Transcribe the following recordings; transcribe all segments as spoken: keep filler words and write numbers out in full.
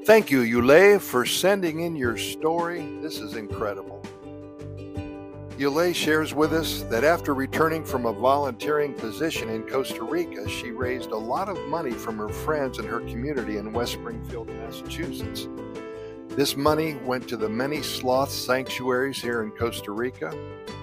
Thank you, Yulei, for sending in your story. This is incredible. Yulei shares with us that after returning from a volunteering position in Costa Rica, she raised a lot of money from her friends and her community in West Springfield, Massachusetts. This money went to the many sloth sanctuaries here in Costa Rica.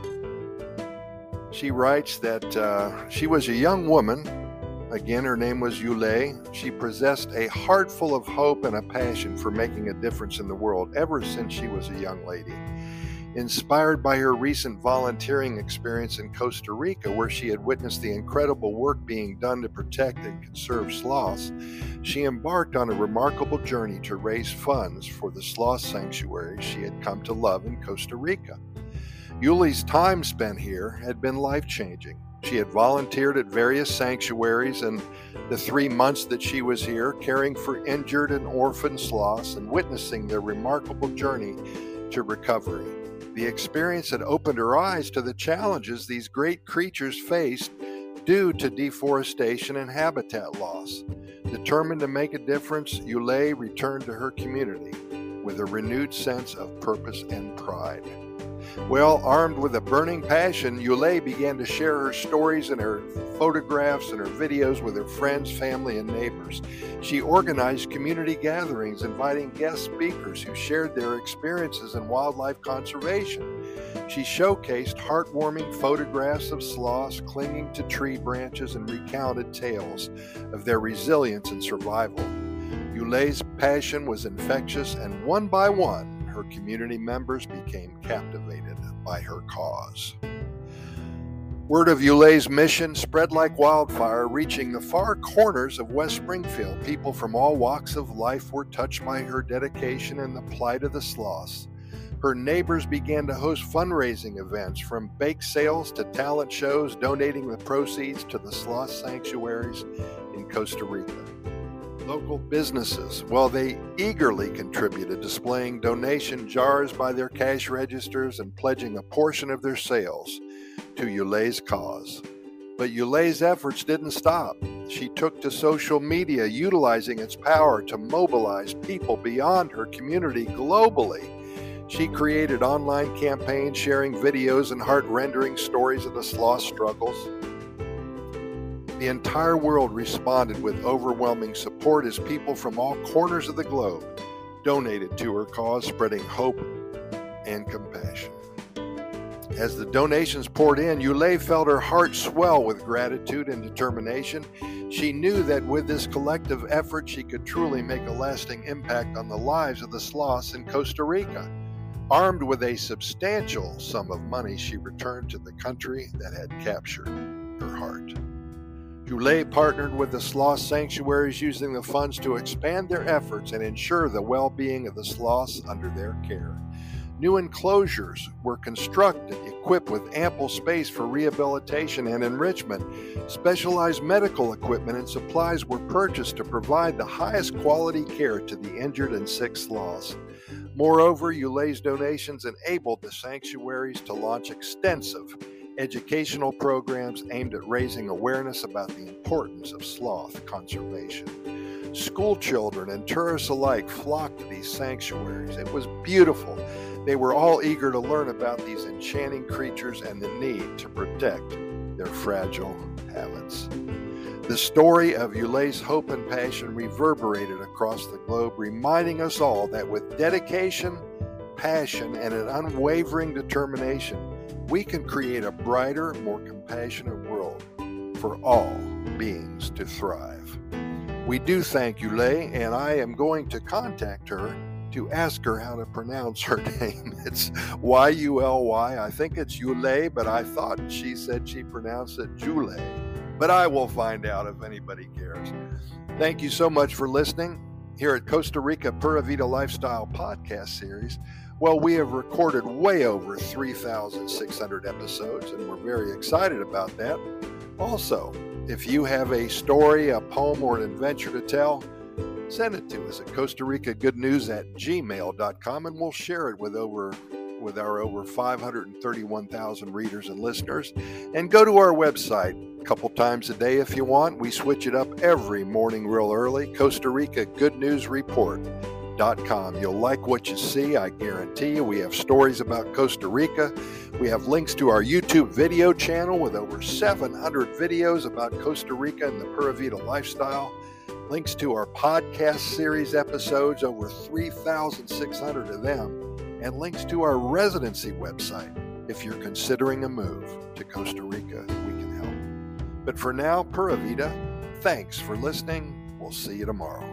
She writes that uh, she was a young woman. Again, her name was Yulei. She possessed a heart full of hope and a passion for making a difference in the world ever since she was a young lady. Inspired by her recent volunteering experience in Costa Rica, where she had witnessed the incredible work being done to protect and conserve sloths, she embarked on a remarkable journey to raise funds for the sloth sanctuaries she had come to love in Costa Rica. Yulei's time spent here had been life-changing. She had volunteered at various sanctuaries, and the three months that she was here, caring for injured and orphaned sloths and witnessing their remarkable journey to recovery. The experience had opened her eyes to the challenges these great creatures faced due to deforestation and habitat loss. Determined to make a difference, Yulei returned to her community with a renewed sense of purpose and pride. Well, armed with a burning passion, Yulei began to share her stories and her photographs and her videos with her friends, family, and neighbors. She organized community gatherings, inviting guest speakers who shared their experiences in wildlife conservation. She showcased heartwarming photographs of sloths clinging to tree branches and recounted tales of their resilience and survival. Yulei's passion was infectious, and one by one, her community members became captivated by her cause. Word of Yulei's mission spread like wildfire, reaching the far corners of West Springfield. People from all walks of life were touched by her dedication and the plight of the sloths. Her neighbors began to host fundraising events, from bake sales to talent shows, donating the proceeds to the sloth sanctuaries in Costa Rica. Local businesses, well, they eagerly contributed, displaying donation jars by their cash registers and pledging a portion of their sales to Yulei's cause. But Yulei's efforts didn't stop. She took to social media, utilizing its power to mobilize people beyond her community globally. She created online campaigns sharing videos and heart-rending stories of the sloth struggles. The entire world responded with overwhelming support as people from all corners of the globe donated to her cause, spreading hope and compassion. As the donations poured in, Yulei felt her heart swell with gratitude and determination. She knew that with this collective effort, she could truly make a lasting impact on the lives of the sloths in Costa Rica. Armed with a substantial sum of money, she returned to the country that had captured her heart. Yulei partnered with the sloth sanctuaries, using the funds to expand their efforts and ensure the well-being of the sloths under their care. New enclosures were constructed, equipped with ample space for rehabilitation and enrichment. Specialized medical equipment and supplies were purchased to provide the highest quality care to the injured and sick sloths. Moreover, Yulei's donations enabled the sanctuaries to launch extensive educational programs aimed at raising awareness about the importance of sloth conservation. School children and tourists alike flocked to these sanctuaries. It was beautiful. They were all eager to learn about these enchanting creatures and the need to protect their fragile habits. The story of Yulei's hope and passion reverberated across the globe, reminding us all that with dedication, passion, and an unwavering determination, we can create a brighter, more compassionate world for all beings to thrive. We do thank Yulei, and I am going to contact her to ask her how to pronounce her name. It's Y U L Y. I think it's Yulei, but I thought she said she pronounced it Julei. But I will find out if anybody cares. Thank you so much for listening. Here at Costa Rica Pura Vida Lifestyle Podcast Series, well, we have recorded way over three thousand six hundred episodes, and we're very excited about that. Also, if you have a story, a poem, or an adventure to tell, send it to us at Costa Rica Good News at gmail dot com, and we'll share it with over with our over five hundred thirty-one thousand readers and listeners. And go to our website a couple times a day if you want. We switch it up every morning real early. Costa Rica Good News Report dot com. You'll like what you see, I guarantee you. We have stories about Costa Rica. We have links to our YouTube video channel with over seven hundred videos about Costa Rica and the Pura Vida lifestyle. Links to our podcast series episodes, over three thousand six hundred of them. And links to our residency website. If you're considering a move to Costa Rica, we can help. But for now, Pura Vida, thanks for listening. We'll see you tomorrow.